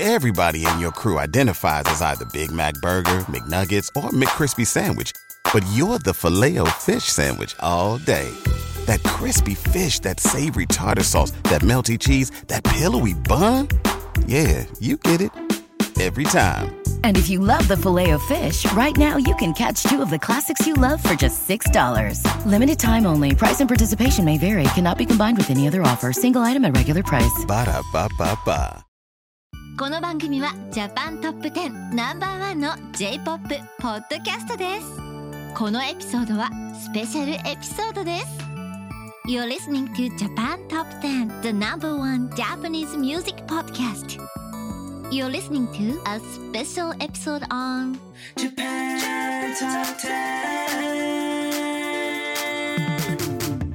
Everybody in your crew identifies as either Big Mac Burger, McNuggets, or McCrispy Sandwich. But you're the Filet-O-Fish Sandwich all day. That crispy fish, that savory tartar sauce, that melty cheese, that pillowy bun. Yeah, you get it. Every time. And if you love the Filet-O-Fish, right now you can catch two of the classics you love for just $6. Limited time only. Price and participation may vary. Cannot be combined with any other offer. Single item at regular price. Ba-da-ba-ba-ba. この番組はジャパントップ10ナンバーワンの J-POP ポッドキャストです。このエピソードはスペシャルエピソードです。You're listening to Japan Top 10, the number one Japanese music podcast. You're listening to a special episode on Japan Top 10.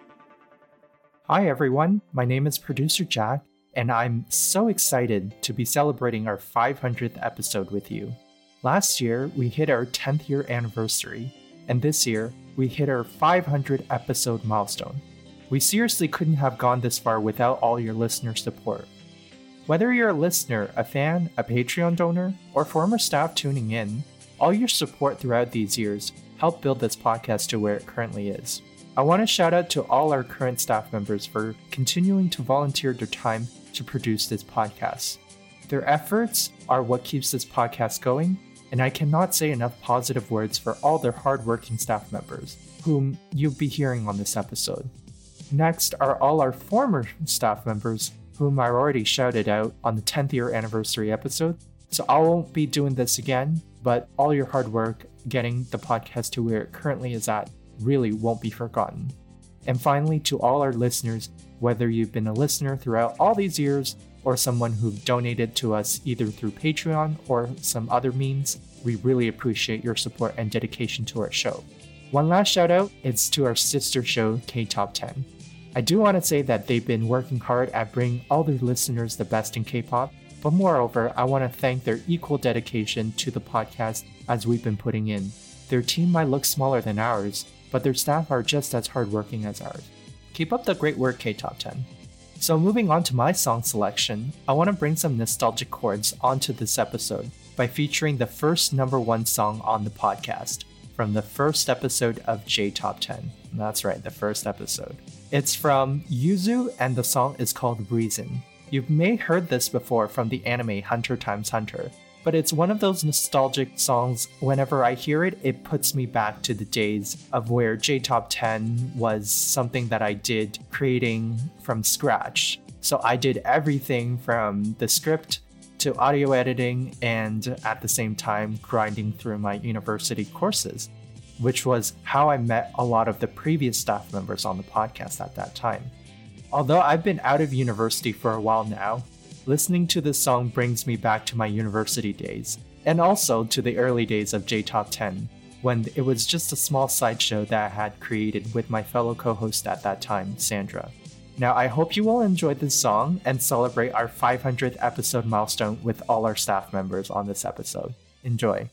Hi everyone, my name is Producer Jack, and I'm so excited to be celebrating our 500th episode with you. Last year, we hit our 10th year anniversary, and this year, we hit our 500 episode milestone. We seriously couldn't have gone this far without all your listener support. Whether you're a listener, a fan, a Patreon donor, or former staff tuning in, all your support throughout these years helped build this podcast to where it currently is. I want to shout out to all our current staff members for continuing to volunteer their time to produce this podcast. Their efforts are what keeps this podcast going, and I cannot say enough positive words for all their hardworking staff members, whom you'll be hearing on this episode. Next are all our former staff members, whom I already shouted out on the 10th year anniversary episode, so I won't be doing this again, but all your hard work getting the podcast to where it currently is at really won't be forgotten. And finally, to all our listeners, whether you've been a listener throughout all these years or someone who've donated to us either through Patreon or some other means, we really appreciate your support and dedication to our show. One last shout out is to our sister show, K-Top 10. I do want to say that they've been working hard at bringing all their listeners the best in K-pop, but moreover, I want to thank their equal dedication to the podcast as we've been putting in. Their team might look smaller than ours, but their staff are just as hardworking as ours. Keep up the great work, K-Top 10. So moving on to my song selection, I want to bring some nostalgic chords onto this episode by featuring the first number one song on the podcast from the first episode of J-Top 10. That's right, the first episode. It's from Yuzu and the song is called Reason. You may have heard this before from the anime Hunter x Hunter, but it's one of those nostalgic songs. Whenever I hear it, it puts me back to the days of where J-Top 10 was something that I did creating from scratch. So I did everything from the script to audio editing and at the same time grinding through my university courses, which was how I met a lot of the previous staff members on the podcast at that time. Although I've been out of university for a while now, listening to this song brings me back to my university days, and also to the early days of J-Top 10, when it was just a small sideshow that I had created with my fellow co-host at that time, Sandra. Now I hope you will enjoy this song and celebrate our 500th episode milestone with all our staff members on this episode. Enjoy.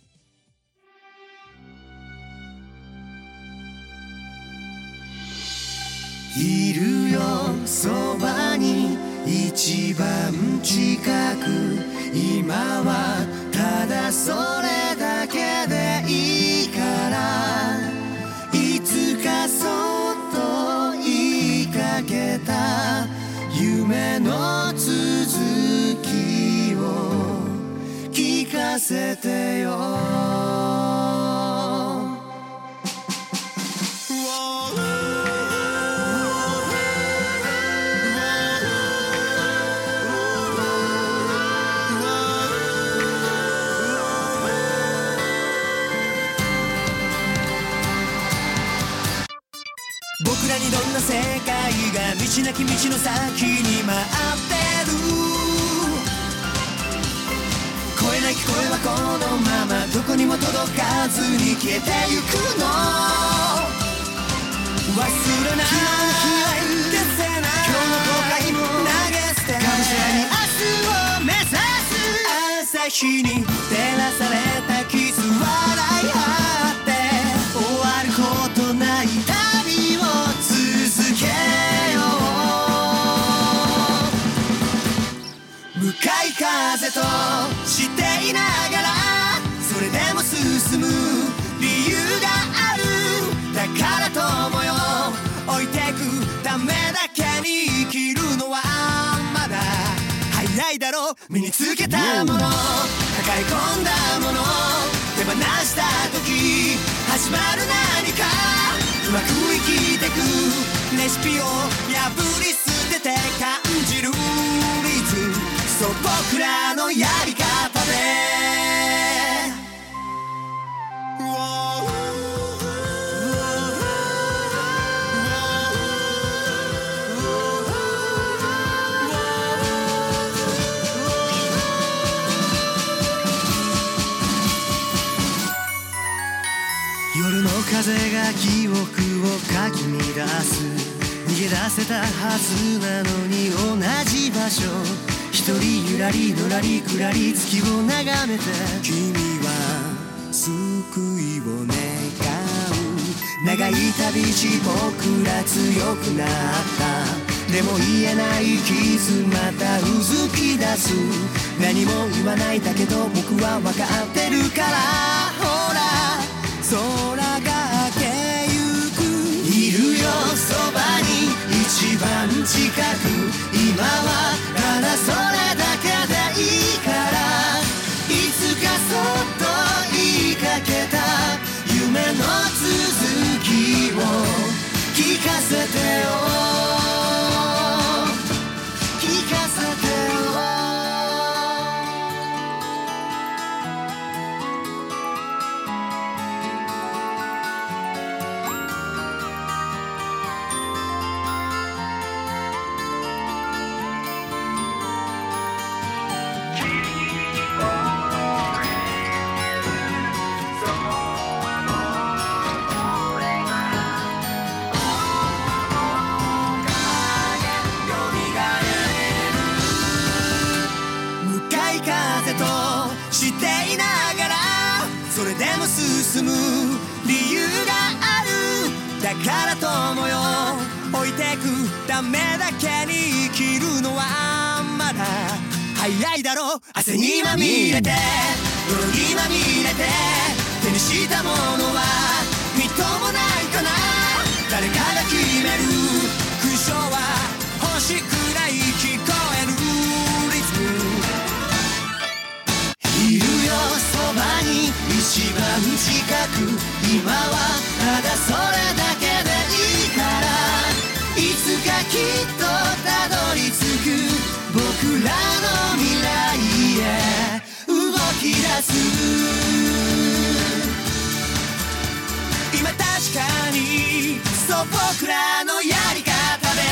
いるよそばに一番近く今はただそれだけでいいからいつかそっと言いかけた夢の続きを聞かせてよ僕らにどんな世界が道なき道の先に待ってる越えなき声はこのままどこにも届かずに消えてゆくの忘れない消せない今日の後悔も投げ捨てがむしゃらに明日を目指す朝日に照らされたキス笑い合って終わることない旅を続けよう向向かい風としていながらそれでも進む理由があるだから友よ置いてくためだけに生きるのはまだ早いだろう身につけたもの抱え込んだもの手放した時始まる何かうまく生きてくレシピを破り捨てて感じるリズムそう僕らのやり方で夜の風が記憶をかき乱す逃げ出せたはずなのに同じ場所一人ゆらりのらりくらり月を眺めて君は救いを願う長い旅路僕ら強くなったでも言えない傷またうずき出す何も言わないだけど僕は分かってるからほら空が明けゆくいるよそばに一番近く今はただそれだけでいいからいつかそっと言いかけた夢の続きを聞かせてよ聞かせてよ進む理由があるだから友よ置いてくためだけに生きるのはまだ早いだろう汗にまみれて泥にまみれて手にしたものはみっともないかな誰かが決める勲章は星くらい聞こえるリズムいるよそばに一番近く今はただそれだけでいいからいつかきっとたどり着く僕らの未来へ動き出す今確かにそう僕らのやり方で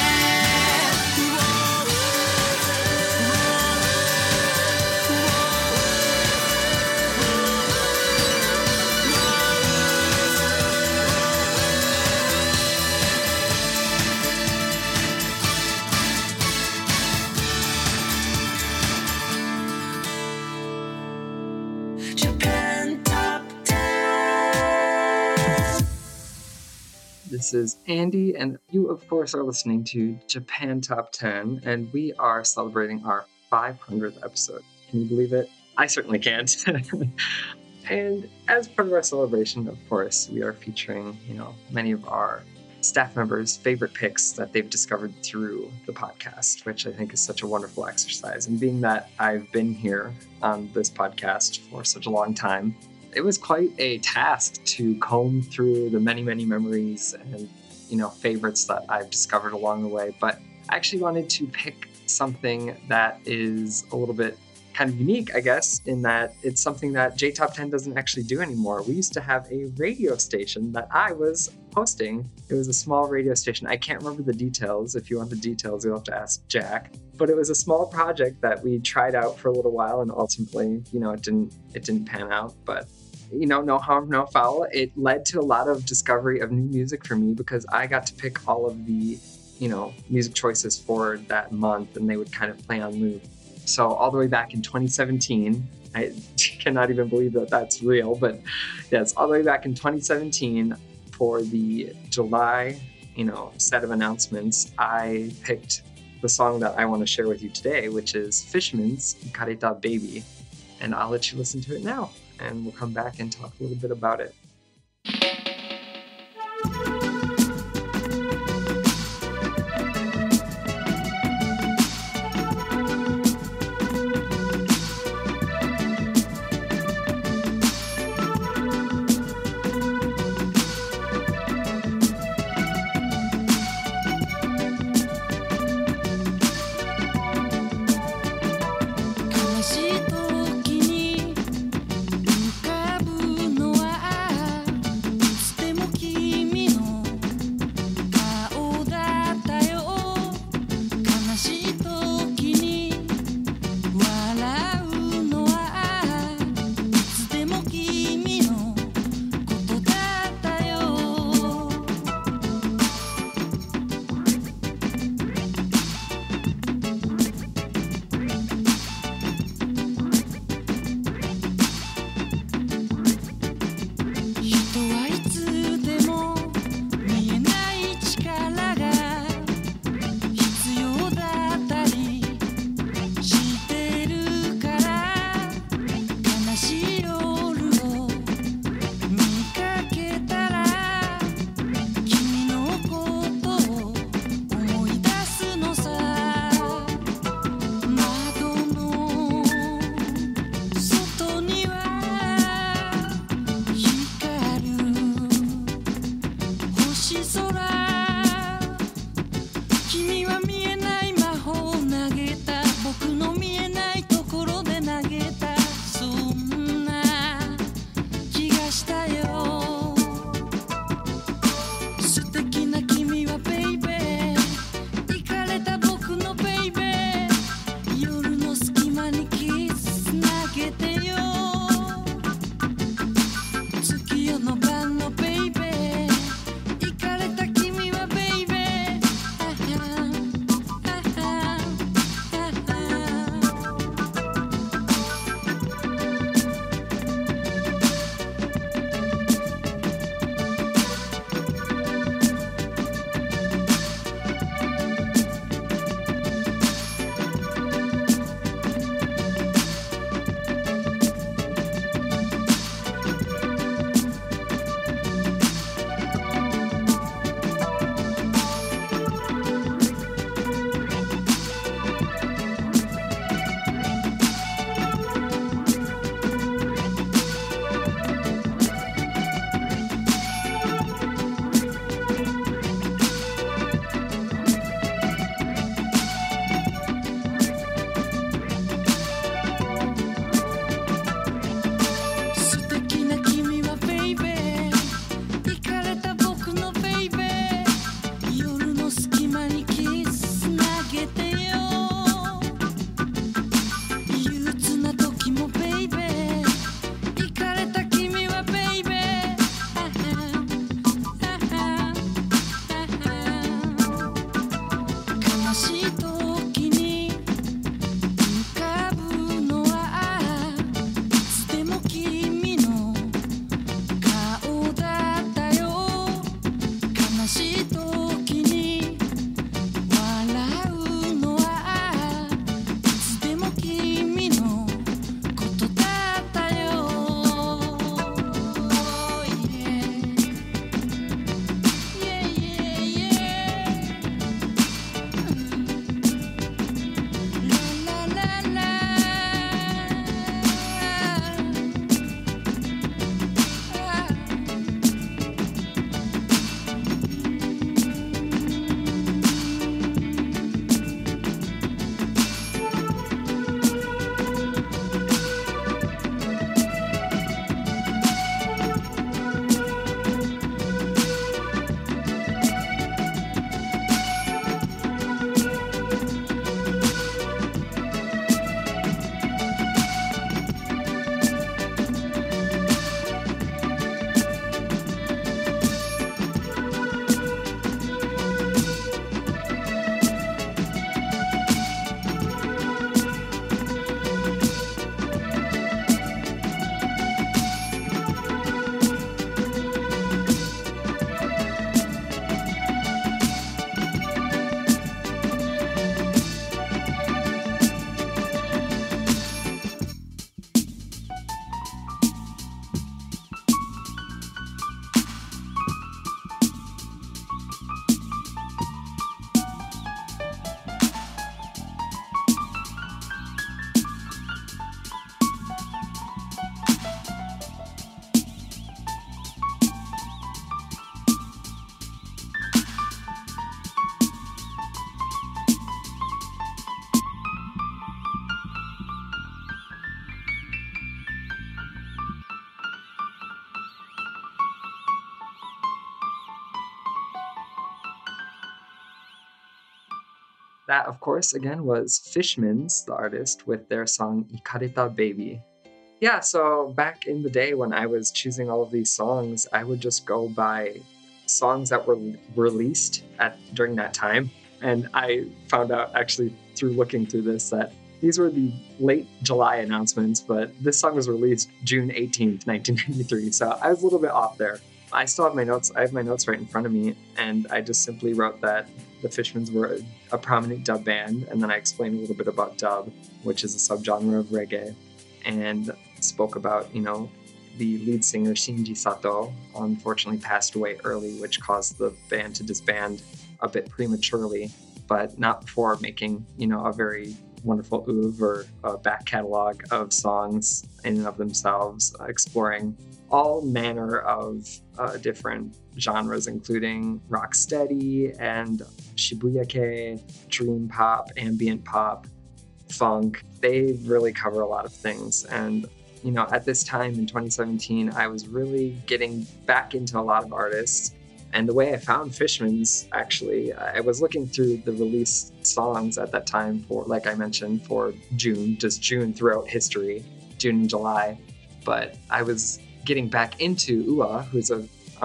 This is Andy, and you, of course, are listening to Japan Top 10, and we are celebrating our 500th episode. Can you believe it? I certainly can't. And as part of our celebration, of course, we are featuring, many of our staff members' favorite picks that they've discovered through the podcast, which I think is such a wonderful exercise. And being that I've been here on this podcast for such a long time, it was quite a task to comb through the many, many memories and, favorites that I've discovered along the way. But I actually wanted to pick something that is a little bit kind of unique, I guess, in that it's something that J-Top 10 doesn't actually do anymore. We used to have a radio station that I was hosting. It was a small radio station. I can't remember the details. If you want the details, you'll have to ask Jack. But it was a small project that we tried out for a little while, and ultimately, it didn't pan out. But no harm, no foul. It led to a lot of discovery of new music for me because I got to pick all of the, music choices for that month, and they would kind of play on loop. So all the way back in 2017, I cannot even believe that that's real, but yes, all the way back in 2017 for the July, set of announcements, I picked the song that I want to share with you today, which is Fishman's Kareta Baby. And I'll let you listen to it now, and we'll come back and talk a little bit about it. 悲しい時に浮かぶのは That, of course, again, was Fishmans, the artist, with their song Ikareta Baby. Yeah, so back in the day when I was choosing all of these songs, I would just go by songs that were released during that time. And I found out, actually, through looking through this, that these were the late July announcements, but this song was released June 18th, 1993. So I was a little bit off there. I still have my notes. I have my notes right in front of me, and I just simply wrote that the Fishmans were a prominent dub band, and then I explained a little bit about dub, which is a subgenre of reggae, and spoke about, the lead singer Shinji Sato unfortunately passed away early, which caused the band to disband a bit prematurely, but not before making, a very wonderful oeuvre or a back catalog of songs in and of themselves, exploring all manner of different genres, including rocksteady and shibuyake, dream pop, ambient pop, funk. They really cover a lot of things. And, at this time in 2017, I was really getting back into a lot of artists. And the way I found Fishmans, actually, I was looking through the released songs at that time for, like I mentioned, for June, just June throughout history, June and July. But I was getting back into Ua, who's a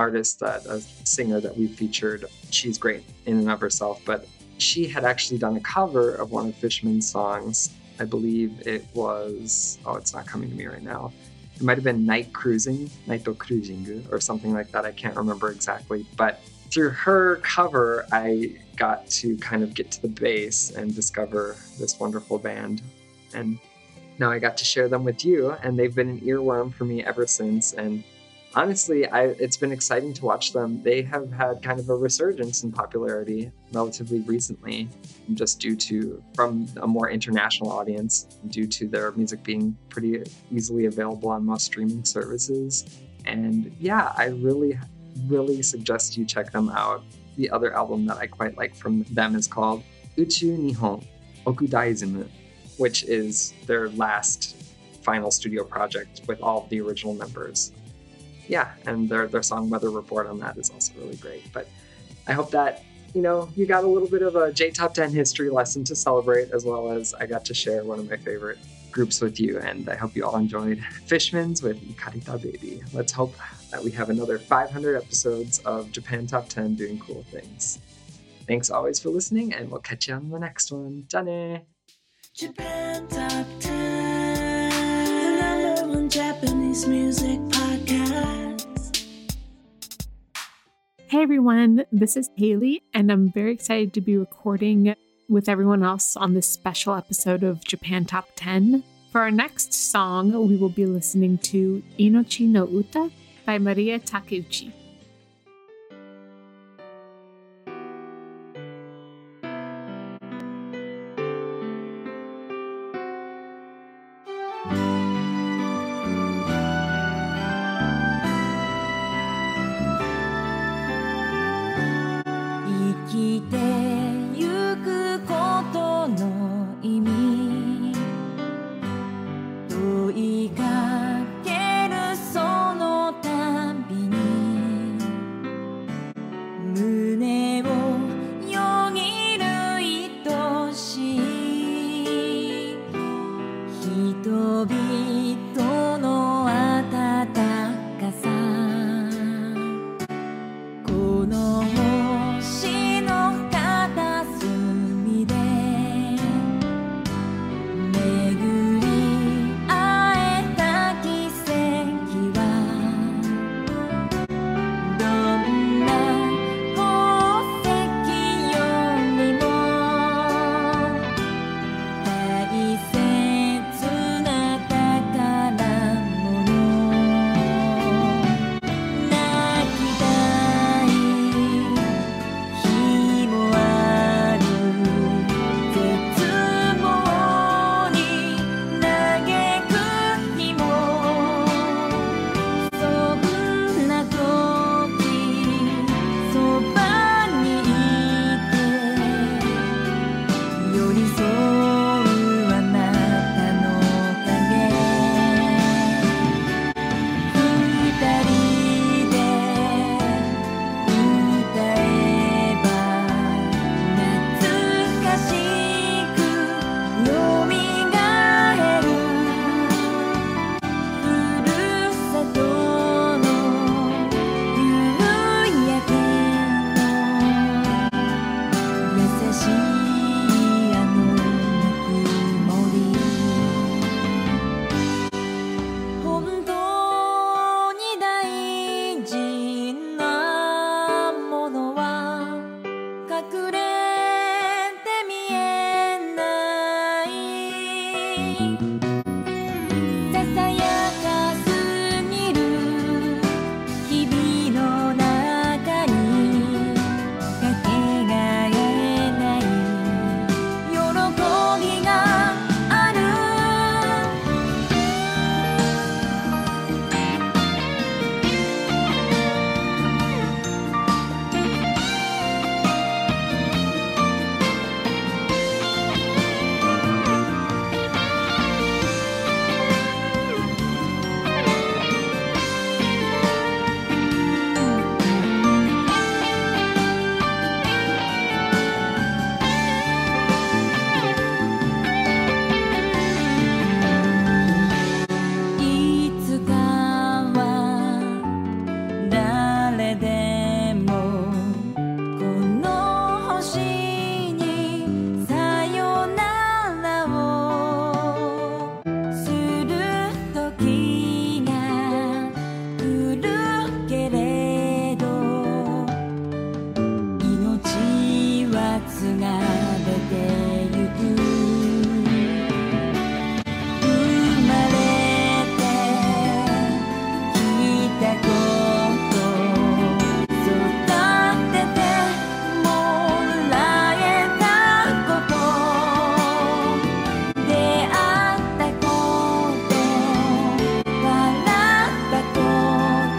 singer that we featured. She's great in and of herself, but she had actually done a cover of one of Fishman's songs. I believe it was, it's not coming to me right now. It might have been Night Cruising, Naito Cruising, or something like that. I can't remember exactly. But through her cover, I got to kind of get to the base and discover this wonderful band. And now I got to share them with you, and they've been an earworm for me ever since. And honestly, it's been exciting to watch them. They have had kind of a resurgence in popularity relatively recently, just from a more international audience, due to their music being pretty easily available on most streaming services. And yeah, I really, really suggest you check them out. The other album that I quite like from them is called Uchu Nihon Okudaizmu, which is their last final studio project with all of the original members. Yeah, and their song Weather Report on that is also really great. But I hope that, you got a little bit of a J Top 10 history lesson to celebrate, as well as I got to share one of my favorite groups with you. And I hope you all enjoyed Fishmans with Ikareta Baby. Let's hope that we have another 500 episodes of Japan Top 10 doing cool things. Thanks always for listening, and we'll catch you on the next one. Jane! Japan Top 10, the number one Japanese music podcast. Hey everyone, this is Haley, and I'm very excited to be recording with everyone else on this special episode of Japan Top 10. For our next song, we will be listening to Inochi no Uta by Maria Takeuchi. 大切な宝ささやかすぎる日々の中にかけがえない喜びがあるいつかは誰でもこの星にさよならをする時が来るけれど命は継がれてゆく生まれてきたこと育ててもらえたこと出会ったこと笑ったこと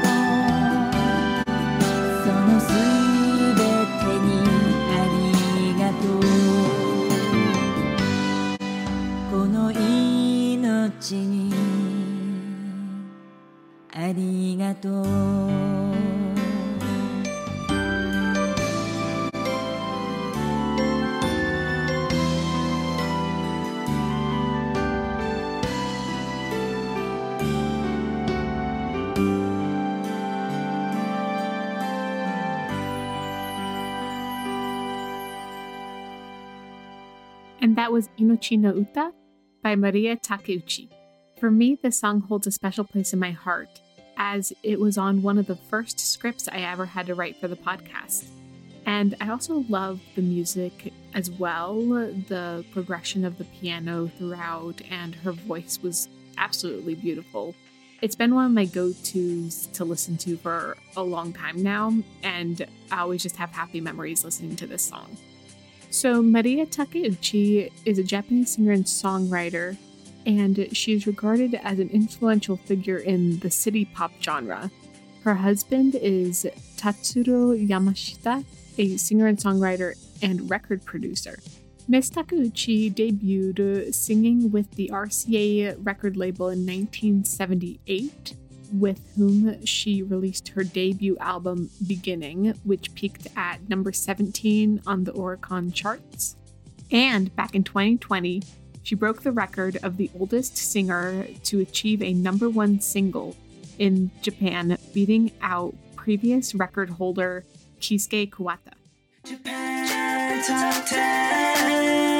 そのすべてにありがとうこの命にありがとう And that was Inochi no Uta by Maria Takeuchi. For me, this song holds a special place in my heart, as it was on one of the first scripts I ever had to write for the podcast. And I also love the music as well, the progression of the piano throughout, and her voice was absolutely beautiful. It's been one of my go-tos to listen to for a long time now, and I always just have happy memories listening to this song. So Maria Takeuchi is a Japanese singer and songwriter, and she is regarded as an influential figure in the city pop genre. Her husband is Tatsuro Yamashita, a singer and songwriter and record producer. Miss Takeuchi debuted singing with the RCA record label in 1978, with whom she released her debut album Beginning, which peaked at number 17 on the Oricon charts. And back in 2020, she broke the record of the oldest singer to achieve a number one single in Japan, beating out previous record holder Keisuke Kuwata. Japan Top 10.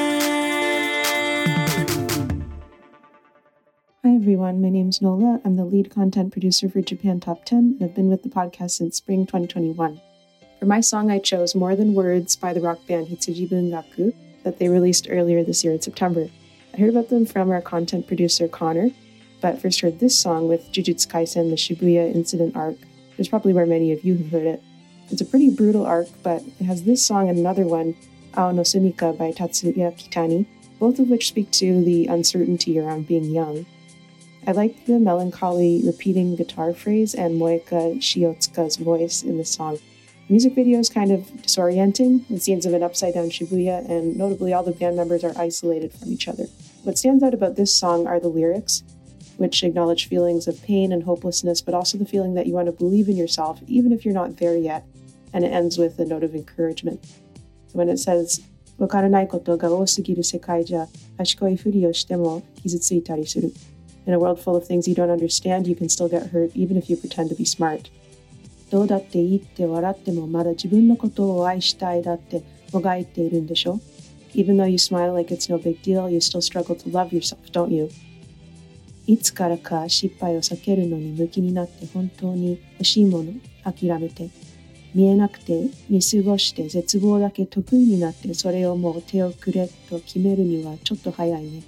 Hi everyone, my name's Nola. I'm the lead content producer for Japan Top 10, and I've been with the podcast since spring 2021. For my song, I chose More Than Words by the rock band Hitsuji Bungaku that they released earlier this year in September. I heard about them from our content producer Connor, but first heard this song with Jujutsu Kaisen, the Shibuya incident arc, which is probably where many of you have heard it. It's a pretty brutal arc, but it has this song and another one, Ao no Sumika by Tatsuya Kitani, both of which speak to the uncertainty around being young. I liked the melancholy repeating guitar phrase and Moeka Shiotsuka's voice in the song. The music video is kind of disorienting, with scenes of an upside-down Shibuya, and notably all the band members are isolated from each other. What stands out about this song are the lyrics, which acknowledge feelings of pain and hopelessness, but also the feeling that you want to believe in yourself, even if you're not there yet, and it ends with a note of encouragement. So when it says, わからないことが多すぎる世界じゃ、賢いふりをしても傷ついたりする. In a world full of things you don't understand, you can still get hurt, even if you pretend to be smart. どうだっていいって笑ってもまだ自分のことを愛したいだってもがいているんでしょ? Even though you smile like it's no big deal, you still struggle to love yourself, don't you? いつからか失敗を避けるのに向きになって本当に欲しいもの諦めて見えなくて見過ごして絶望だけ得意になってそれをもう手をくれと決めるにはちょっと早いね。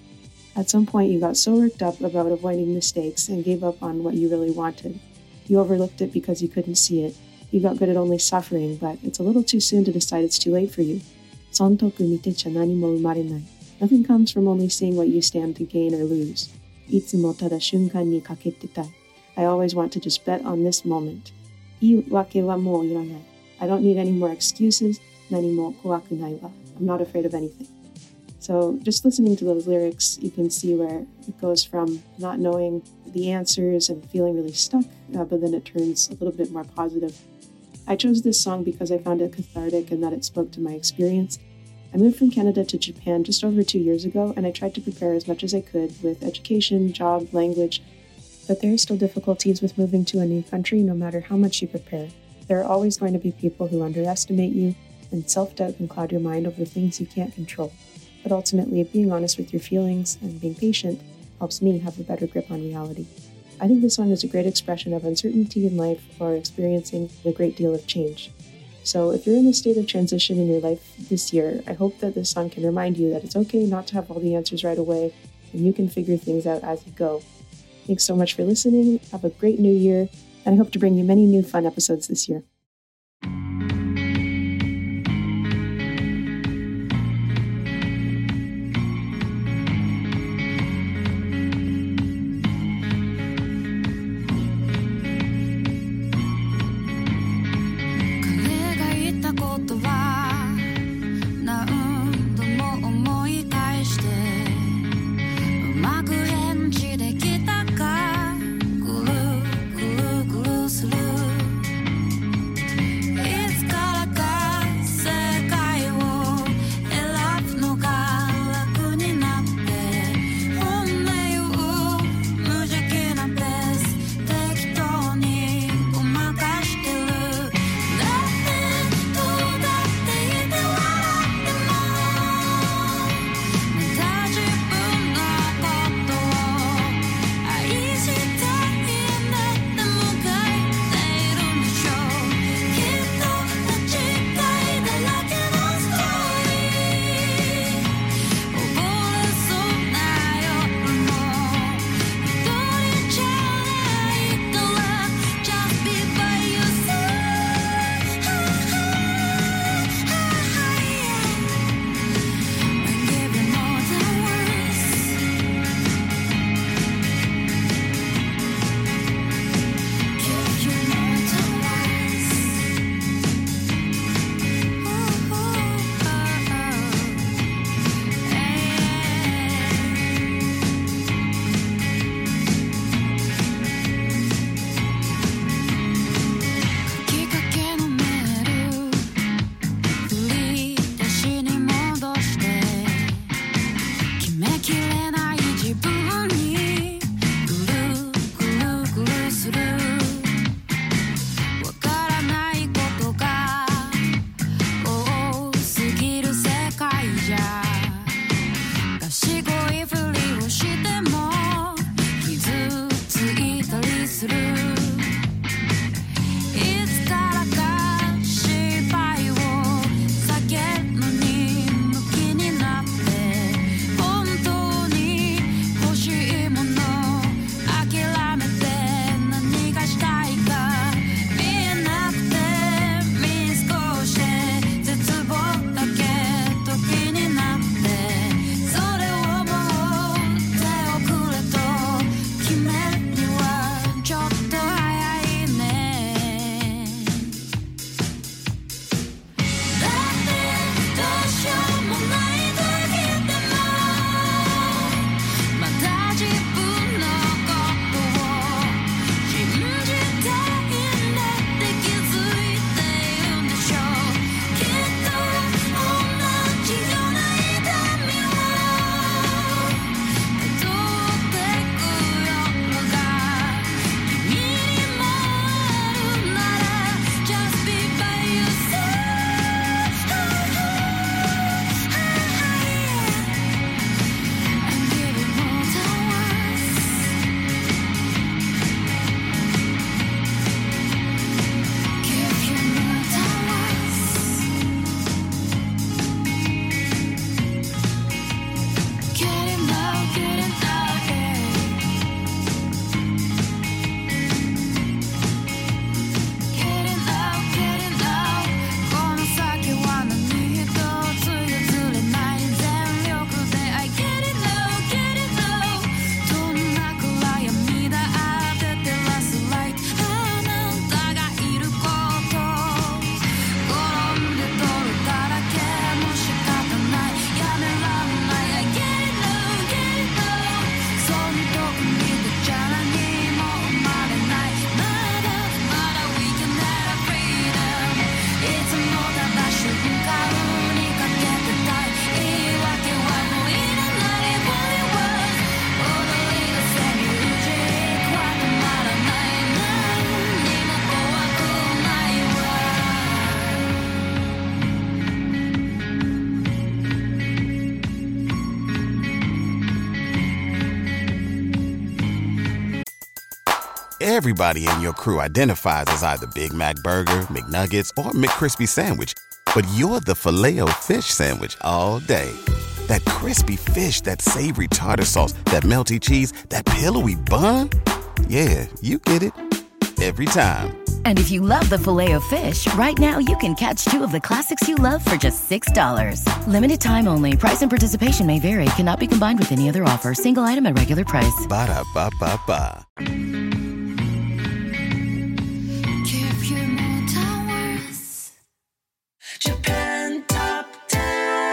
At some point, you got so worked up about avoiding mistakes and gave up on what you really wanted. You overlooked it because you couldn't see it. You got good at only suffering, but it's a little too soon to decide it's too late for you. 損得見てちゃ何も生まれない. Nothing comes from only seeing what you stand to gain or lose. いつもただ瞬間にかけてたい. I always want to just bet on this moment. 言い訳はもういらない. I don't need any more excuses. 何も怖くないわ. I'm not afraid of anything. So just listening to those lyrics, you can see where it goes from not knowing the answers and feeling really stuck, but then it turns a little bit more positive. I chose this song because I found it cathartic and that it spoke to my experience. I moved from Canada to Japan just over 2 years ago, and I tried to prepare as much as I could with education, job, language, but there are still difficulties with moving to a new country no matter how much you prepare. There are always going to be people who underestimate you, and self-doubt can cloud your mind over things you can't control. But ultimately, being honest with your feelings and being patient helps me have a better grip on reality. I think this song is a great expression of uncertainty in life or experiencing a great deal of change. So if you're in a state of transition in your life this year, I hope that this song can remind you that it's okay not to have all the answers right away, and you can figure things out as you go. Thanks so much for listening. Have a great new year, and I hope to bring you many new fun episodes this year. Everybody in your crew identifies as either Big Mac Burger, McNuggets, or McCrispy Sandwich. But you're the Filet-O-Fish Sandwich all day. That crispy fish, that savory tartar sauce, that melty cheese, that pillowy bun. Yeah, you get it. Every time. And if you love the Filet-O-Fish, right now you can catch two of the classics you love for just $6. Limited time only. Price and participation may vary. Cannot be combined with any other offer. Single item at regular price. Ba-da-ba-ba-ba. Japan Top 10.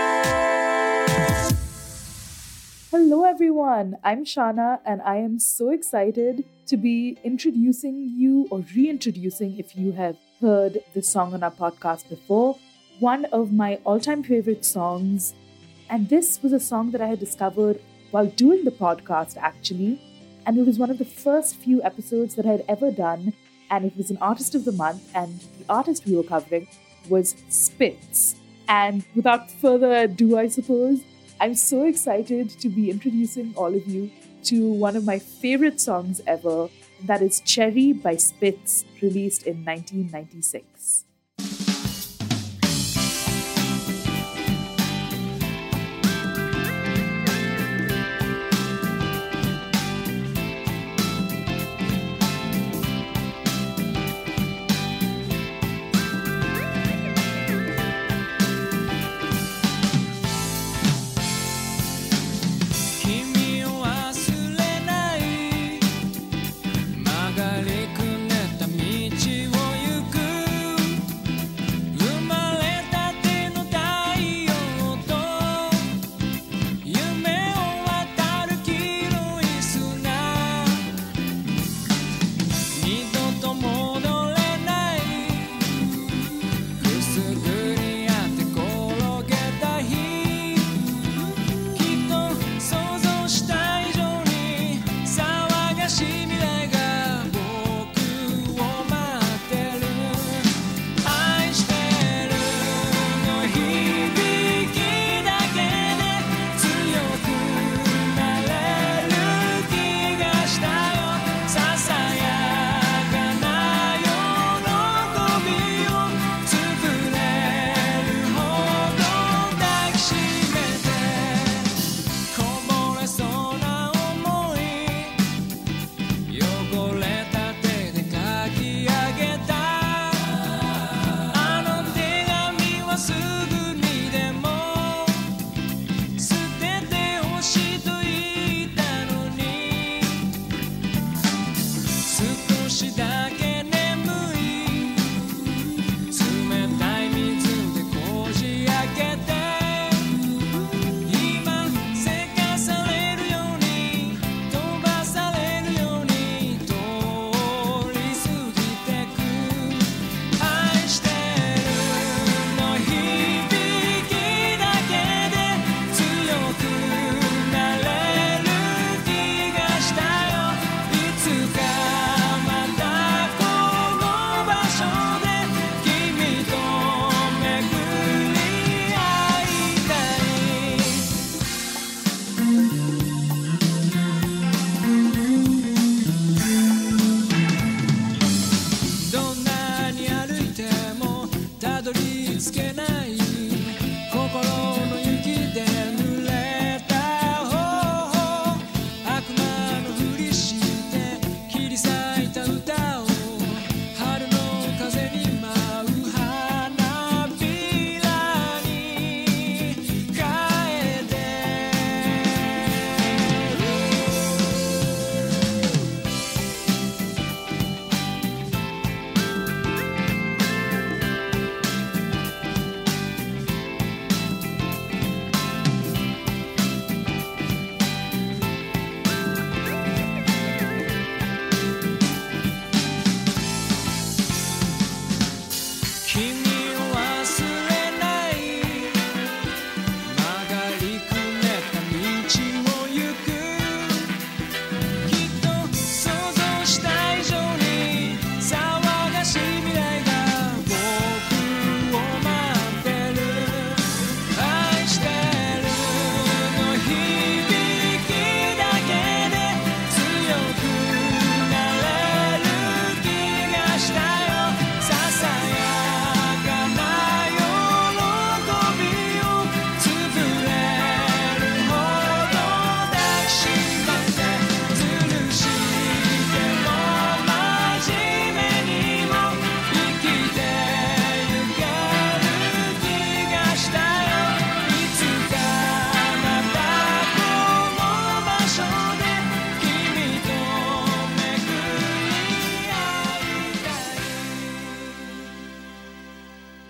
Hello everyone, I'm Shana and I am so excited to be introducing you or reintroducing, if you have heard this song on our podcast before, one of my all-time favorite songs. And this was a song that I had discovered while doing the podcast actually. And it was one of the first few episodes that I had ever done. And it was an Artist of the Month, and the artist we were covering was Spitz. And without further ado, I suppose, I'm so excited to be introducing all of you to one of my favorite songs ever, and that is Cherry by Spitz, released in 1996. 曲がりくねった道を行く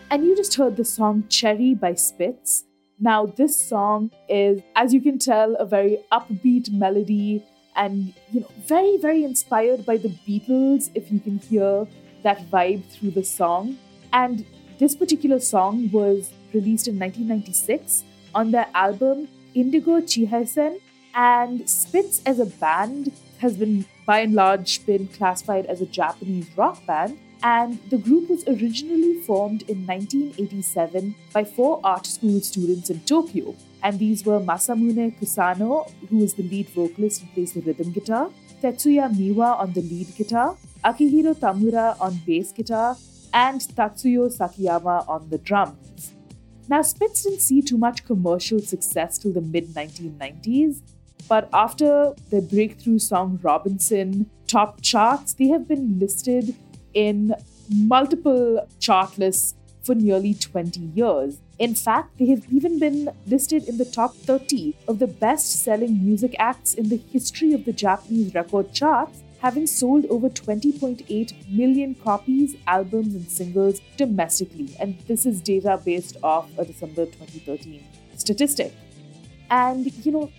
And you just heard the song Cherry by Spitz. Now, this song is, as you can tell, a very upbeat melody and, very, very inspired by the Beatles, if you can hear that vibe through the song. And this particular song was released in 1996 on their album Indigo Chihaisen. And Spitz as a band has been, by and large, been classified as a Japanese rock band. And the group was originally formed in 1987 by 4 art school students in Tokyo. And these were Masamune Kusano, who is the lead vocalist and plays the rhythm guitar, Tetsuya Miwa on the lead guitar, Akihiro Tamura on bass guitar, and Tatsuyo Sakiyama on the drums. Now, Spitz didn't see too much commercial success till the mid-1990s, but after their breakthrough song Robinson topped charts, they have been listed in multiple chart lists for nearly 20 years. In fact, they have even been listed in the top 30 of the best-selling music acts in the history of the Japanese record charts, having sold over 20.8 million copies, albums, and singles domestically. And this is data based off a December 2013 statistic. And,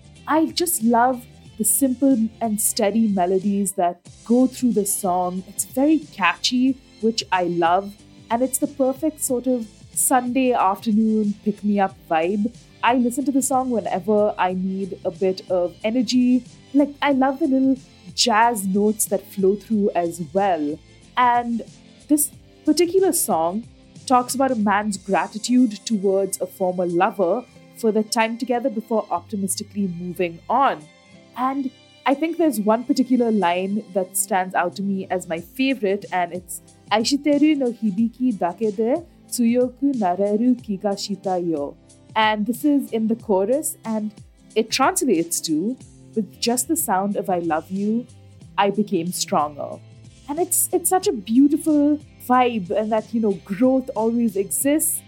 I just love the simple and steady melodies that go through the song. It's very catchy, which I love. And it's the perfect sort of Sunday afternoon pick-me-up vibe. I listen to the song whenever I need a bit of energy. I love the little jazz notes that flow through as well. And this particular song talks about a man's gratitude towards a former lover for their time together before optimistically moving on. And I think there's one particular line that stands out to me as my favorite, and it's Aishiteru no hibiki dake de tsuyoku nareru kiga shita yo. And this is in the chorus, and it translates to, with just the sound of I love you, I became stronger. And it's such a beautiful vibe, and that, growth always exists.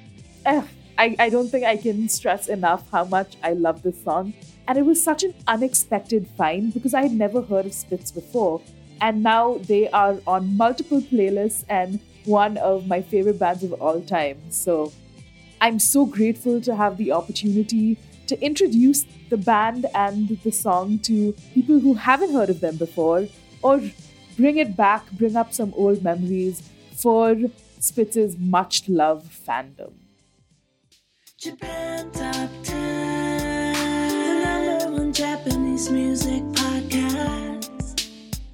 I don't think I can stress enough how much I love this song. And it was such an unexpected find because I had never heard of Spitz before. And now they are on multiple playlists and one of my favorite bands of all time. So I'm so grateful to have the opportunity to introduce the band and the song to people who haven't heard of them before, or bring up some old memories for Spitz's much-loved fandom. Japan Top 10, the #1 Japanese music podcast.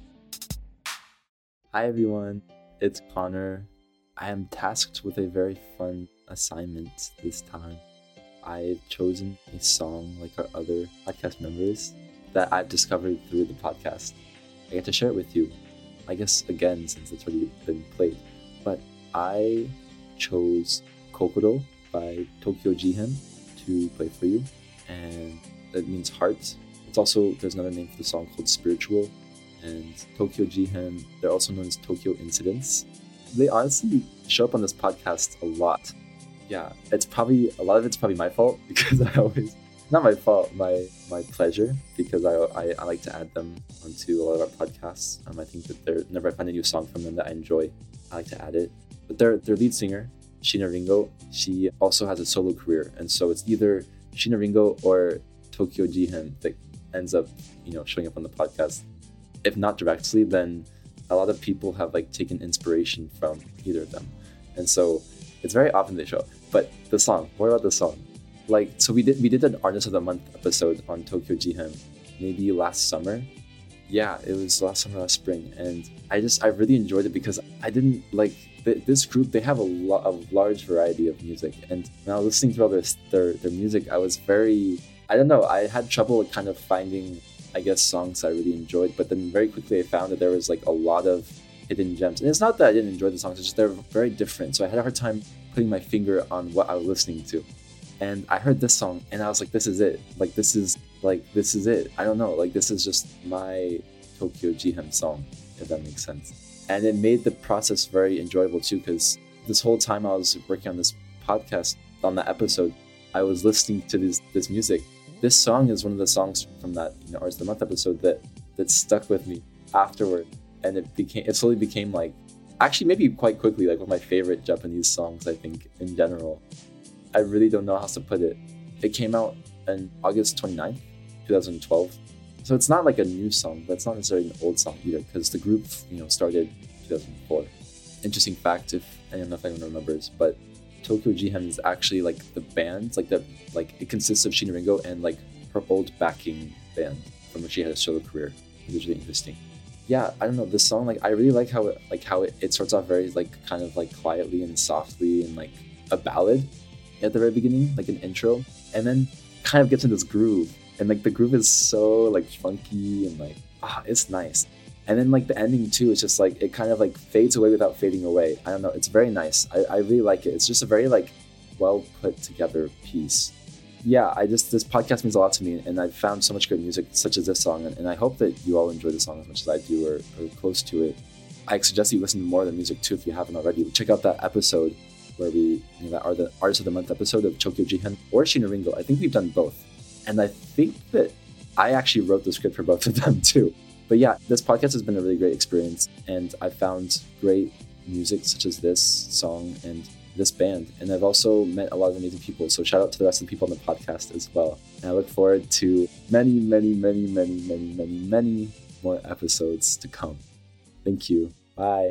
Hi everyone, it's Connor. I am tasked with a very fun assignment this time. I've chosen a song like our other podcast members that I've discovered through the podcast. I get to share it with you, I guess again since it's already been played. But I chose Kokoro by Tokyo Jihen to play for you, and that means heart. It's also, there's another name for the song called Spiritual, and Tokyo Jihen, they're also known as Tokyo Incidents. They honestly show up on this podcast a lot. Yeah, a lot of it's probably my fault because I always, not my fault, my pleasure, because I like to add them onto a lot of our podcasts. I think that whenever I find a new song from them that I enjoy, I like to add it. But their lead singer, Shina Ringo, she also has a solo career, and so it's either Shina Ringo or Tokyo Jihen that ends up, showing up on the podcast. If not directly, then a lot of people have taken inspiration from either of them, and so it's very often they show up. But the song, what about the song? So we did an Artist of the Month episode on Tokyo Jihen, maybe last summer. Yeah, it was last summer, last spring, and I really enjoyed it because I didn't this group. They have a large variety of music, and when I was listening to all their music, I was I had trouble kind of finding, I guess, songs I really enjoyed, but then very quickly I found that there was a lot of hidden gems. And it's not that I didn't enjoy the songs, it's just they're very different. So I had a hard time putting my finger on what I was listening to. And I heard this song and I was like, this is it. This is it. I don't know. This is just my Tokyo Jihen song, if that makes sense. And it made the process very enjoyable too, because this whole time I was working on this podcast, on that episode, I was listening to this music. This song is one of the songs from that Artist of the Month episode that stuck with me afterward, and it slowly became actually maybe quite quickly, like one of my favorite Japanese songs, I think, in general. I really don't know how else to put it. It came out on August 29th, 2012. So it's not like a new song, but it's not necessarily an old song either, because the group, started 2004. Interesting fact, if I don't know if anyone remembers, but Tokyo Jihen is actually like the band, it consists of Shina Ringo and like her old backing band from when she had a solo career. It was really interesting. Yeah, I don't know, this song, I really like how it starts off very kind of quietly and softly and like a ballad at the very beginning, like an intro, and then kind of gets in this groove, and the groove is so funky and it's nice. And then the ending too, it's just it kind of fades away without fading away. I don't know, it's very nice. I really like it. It's just a very well put together piece. Yeah, this podcast means a lot to me, and I've found so much great music such as this song, and I hope that you all enjoy the song as much as I do, or close to it. I suggest you listen to more of the music too if you haven't already. Check out that episode where we, that are the Artist of the Month episode of Tokyo Jihen or Shina Ringo. I think we've done both. And I think that I actually wrote the script for both of them too. But yeah, this podcast has been a really great experience, and I found great music such as this song and this band. And I've also met a lot of amazing people. So shout out to the rest of the people on the podcast as well. And I look forward to many, many, many, many, many, many, many more episodes to come. Thank you. Bye.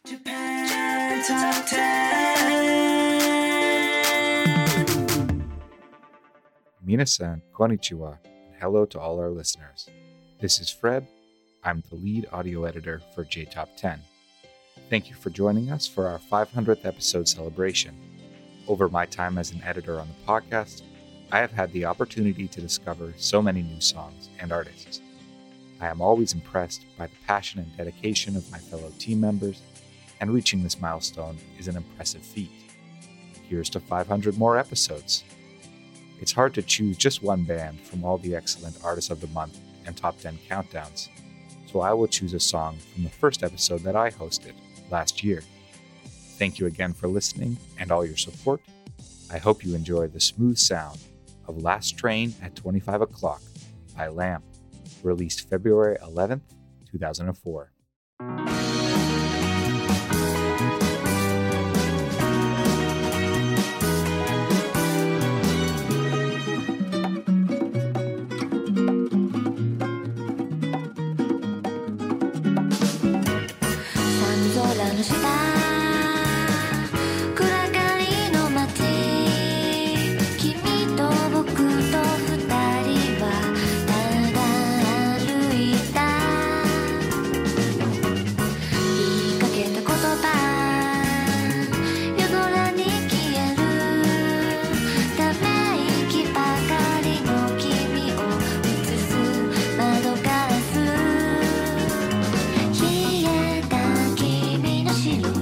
Japan Top 10. Minasan, konnichiwa, and hello to all our listeners. This is Fred. I'm the lead audio editor for J-Top 10. Thank you for joining us for our 500th episode celebration. Over my time as an editor on the podcast, I have had the opportunity to discover so many new songs and artists. I am always impressed by the passion and dedication of my fellow team members, and reaching this milestone is an impressive feat. Here's to 500 more episodes. It's hard to choose just one band from all the excellent Artists of the Month and Top 10 countdowns, so I will choose a song from the first episode that I hosted last year. Thank you again for listening and all your support. I hope you enjoy the smooth sound of Last Train at 25 o'clock by Lamp, released February 11th, 2004. 白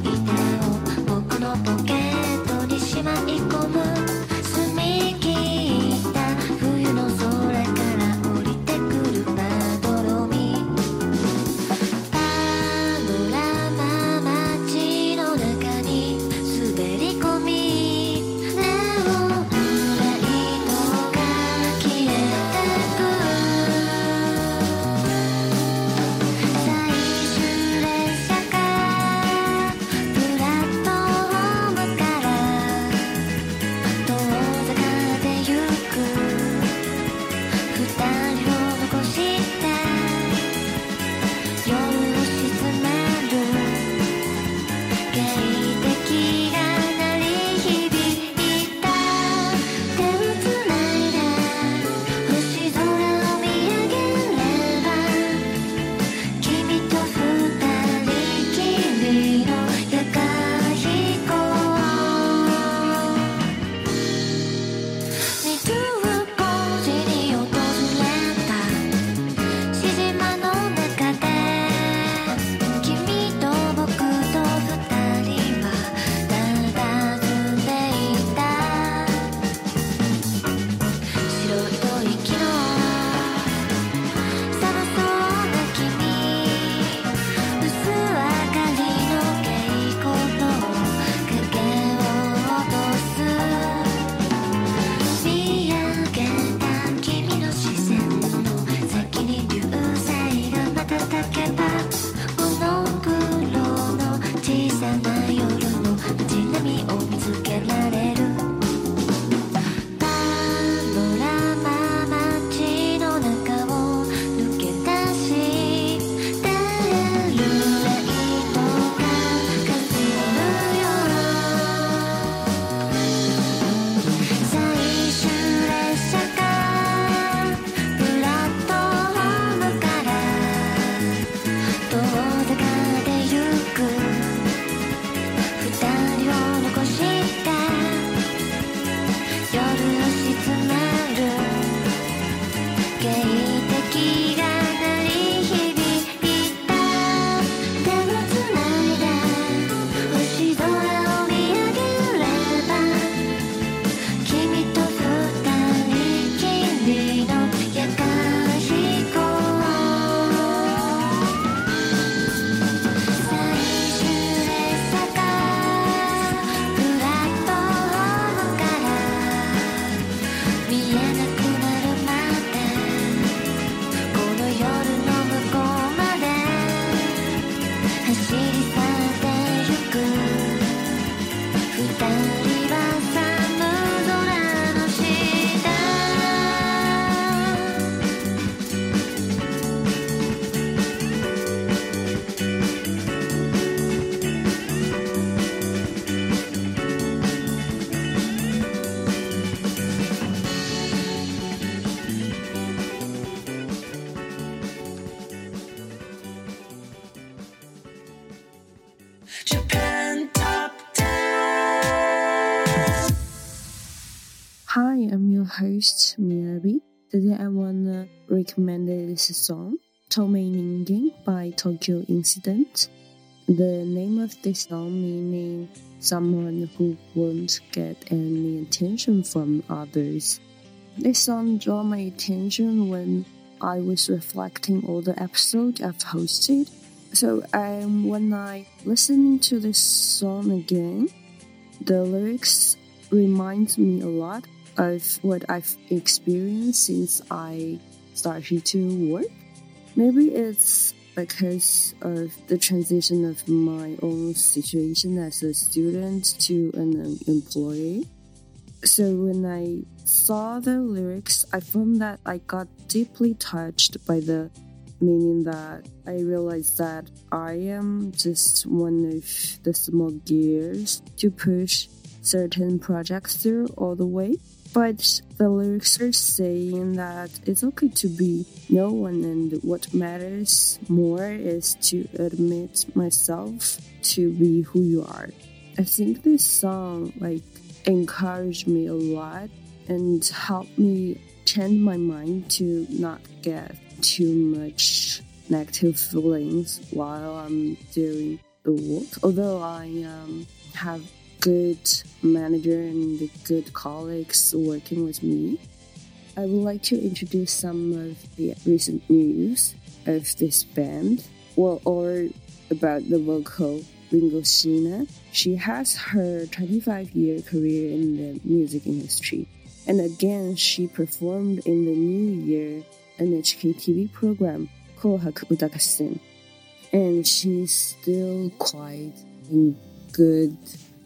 host Miyabi. Today I wanna recommend this song, Tomei Ningen by Tokyo Incident. The name of this song meaning someone who won't get any attention from others. This song drew my attention when I was reflecting all the episodes I've hosted. So when I listened to this song again, the lyrics remind me a lot of what I've experienced since I started to work. Maybe it's because of the transition of my own situation as a student to an employee. So when I saw the lyrics, I found that I got deeply touched by the meaning that I realized that I am just one of the small gears to push certain projects through all the way. But the lyrics are saying that it's okay to be no one, and what matters more is to admit myself to be who you are. I think this song encouraged me a lot and helped me change my mind to not get too much negative feelings while I'm doing the work. Although I have good manager and good colleagues working with me, I would like to introduce some of the recent news of this band, or about the vocal Ringo Sheena. She has her 25-year career in the music industry, and again she performed in the New Year NHK TV program Kohaku Utagassen, and she's still quite in good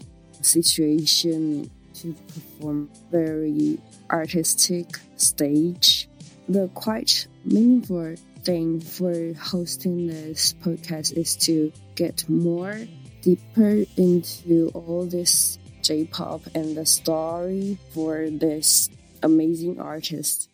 situation to perform very artistic stage. The quite meaningful thing for hosting this podcast is to get more deeper into all this J-pop and the story for this amazing artist.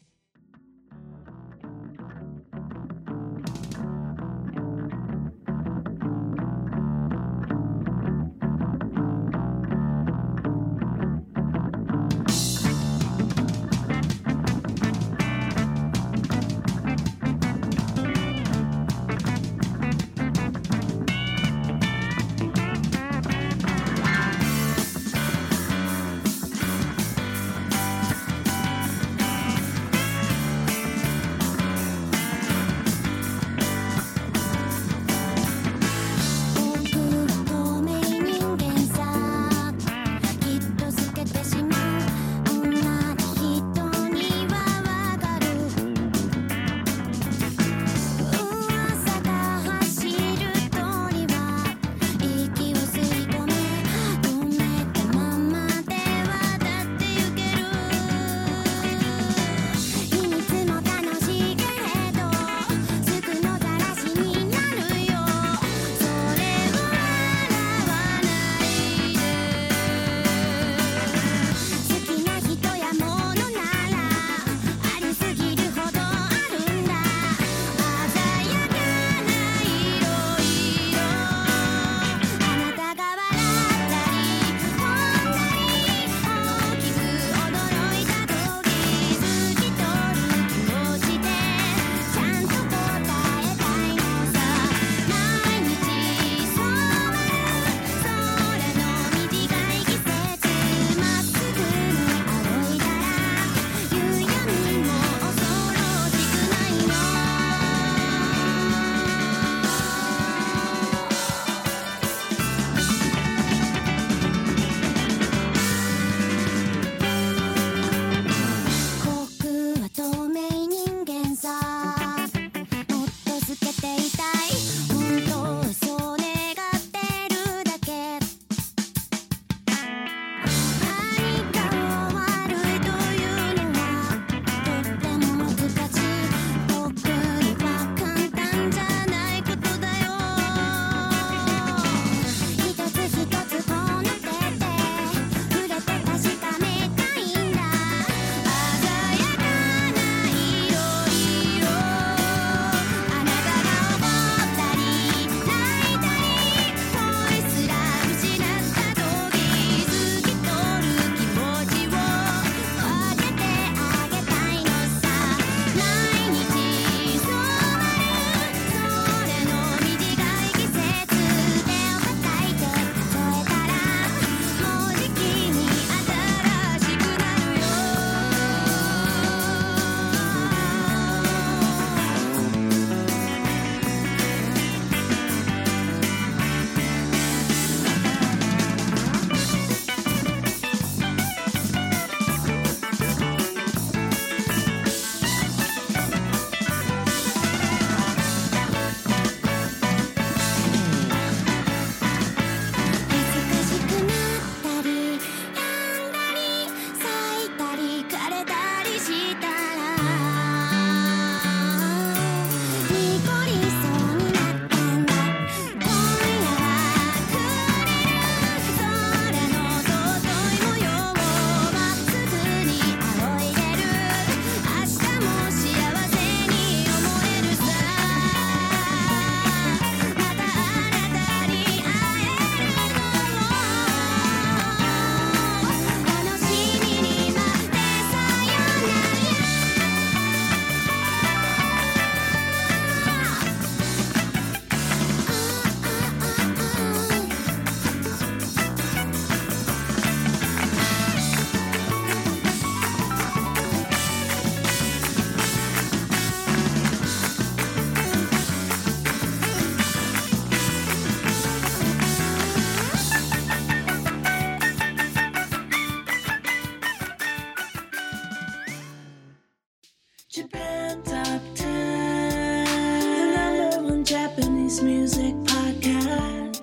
Japanese Music Podcast.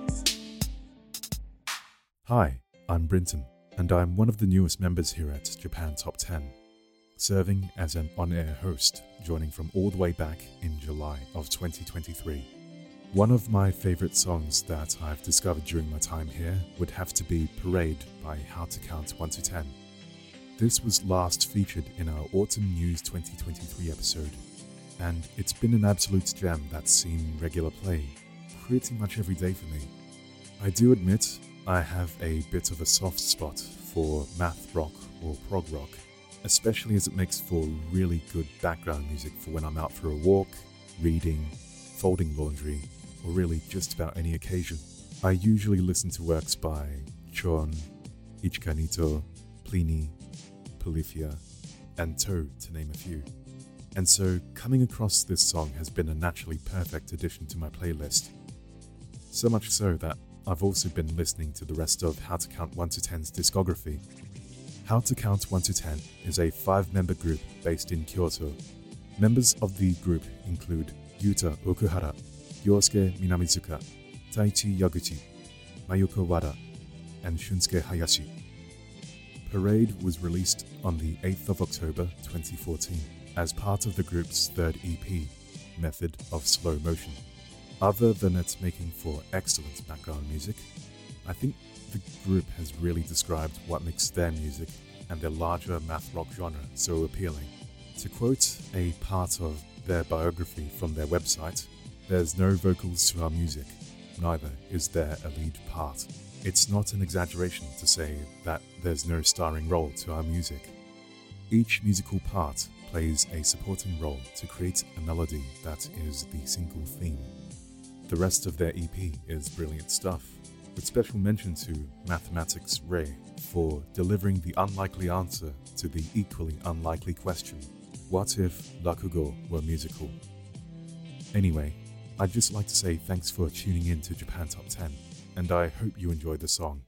Hi, I'm Brinton, and I'm one of the newest members here at Japan Top 10, serving as an on-air host, joining from all the way back in July of 2023. One of my favorite songs that I've discovered during my time here would have to be Parade by How to Count 1 to 10. This was last featured in our Autumn News 2023 episode, and it's been an absolute gem that's seen regular play pretty much every day for me. I do admit I have a bit of a soft spot for math rock or prog rock, especially as it makes for really good background music for when I'm out for a walk, reading, folding laundry, or really just about any occasion. I usually listen to works by Chon, Ichika Nito, Pliny, Polyphia, and Toe, to name a few. And so coming across this song has been a naturally perfect addition to my playlist. So much so that I've also been listening to the rest of How to Count 1 to 10's discography. How to Count 1 to 10 is a 5-member group based in Kyoto. Members of the group include Yuta Okuhara, Yosuke Minamizuka, Taichi Yaguchi, Mayuko Wada, and Shunsuke Hayashi. Parade was released on the 8th of October 2014 as part of the group's third EP, Method of Slow Motion. Other than it making for excellent background music, I think the group has really described what makes their music and their larger math rock genre so appealing. To quote a part of their biography from their website, "There's no vocals to our music, neither is there a lead part. It's not an exaggeration to say that there's no starring role to our music. Each musical part plays a supporting role to create a melody that is the single theme." The rest of their EP is brilliant stuff, with special mention to Mathematics Ray for delivering the unlikely answer to the equally unlikely question, what if Rakugo were musical? Anyway, I'd just like to say thanks for tuning in to Japan Top 10, and I hope you enjoyed the song.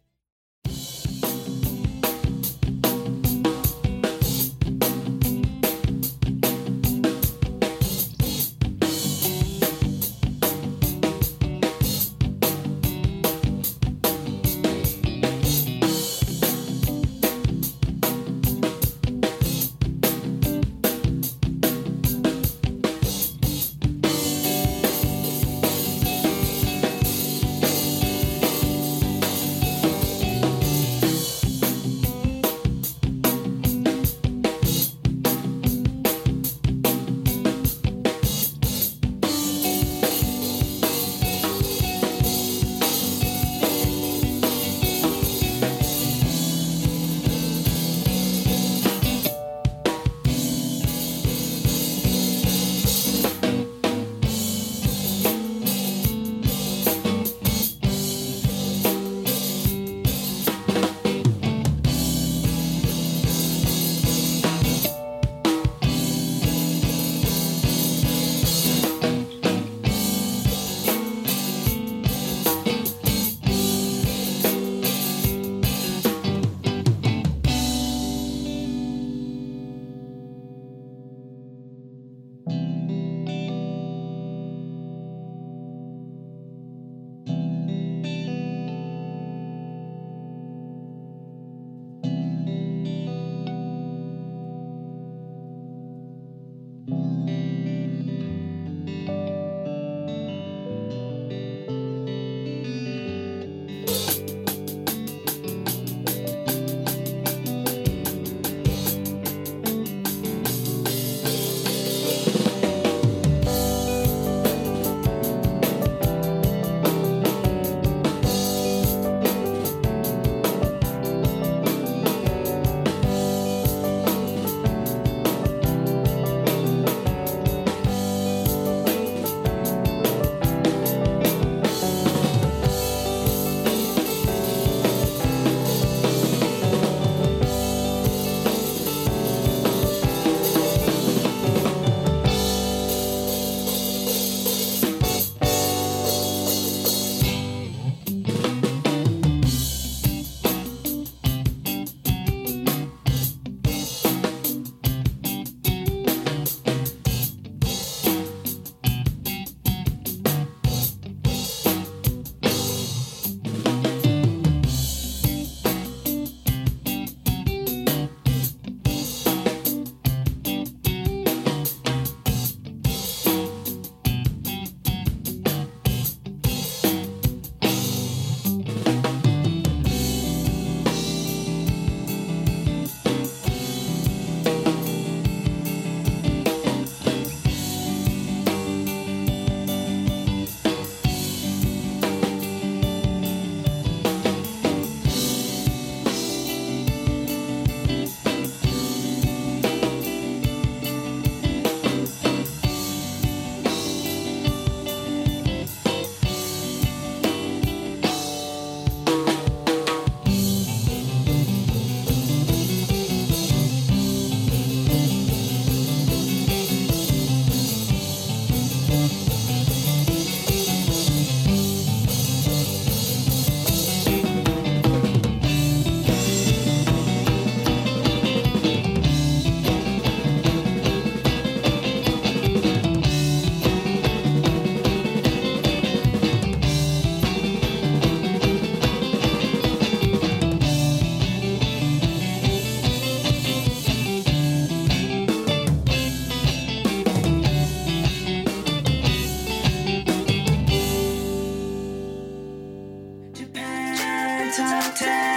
Top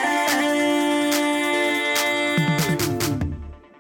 10.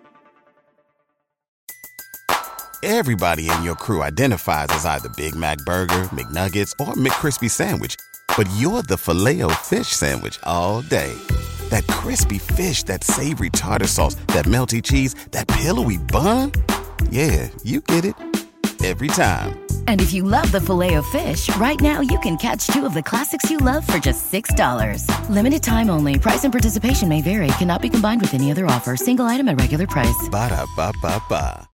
Everybody in your crew identifies as either Big Mac Burger, McNuggets, or McCrispy Sandwich. But you're the Filet-O-Fish Sandwich all day. That crispy fish, that savory tartar sauce, that melty cheese, that pillowy bun. Yeah, you get it. Every time. And if you love the Filet-O-Fish, right now you can catch 2 of the classics you love for just $6. Limited time only. Price and participation may vary. Cannot be combined with any other offer. Single item at regular price. Ba-da-ba-ba-ba.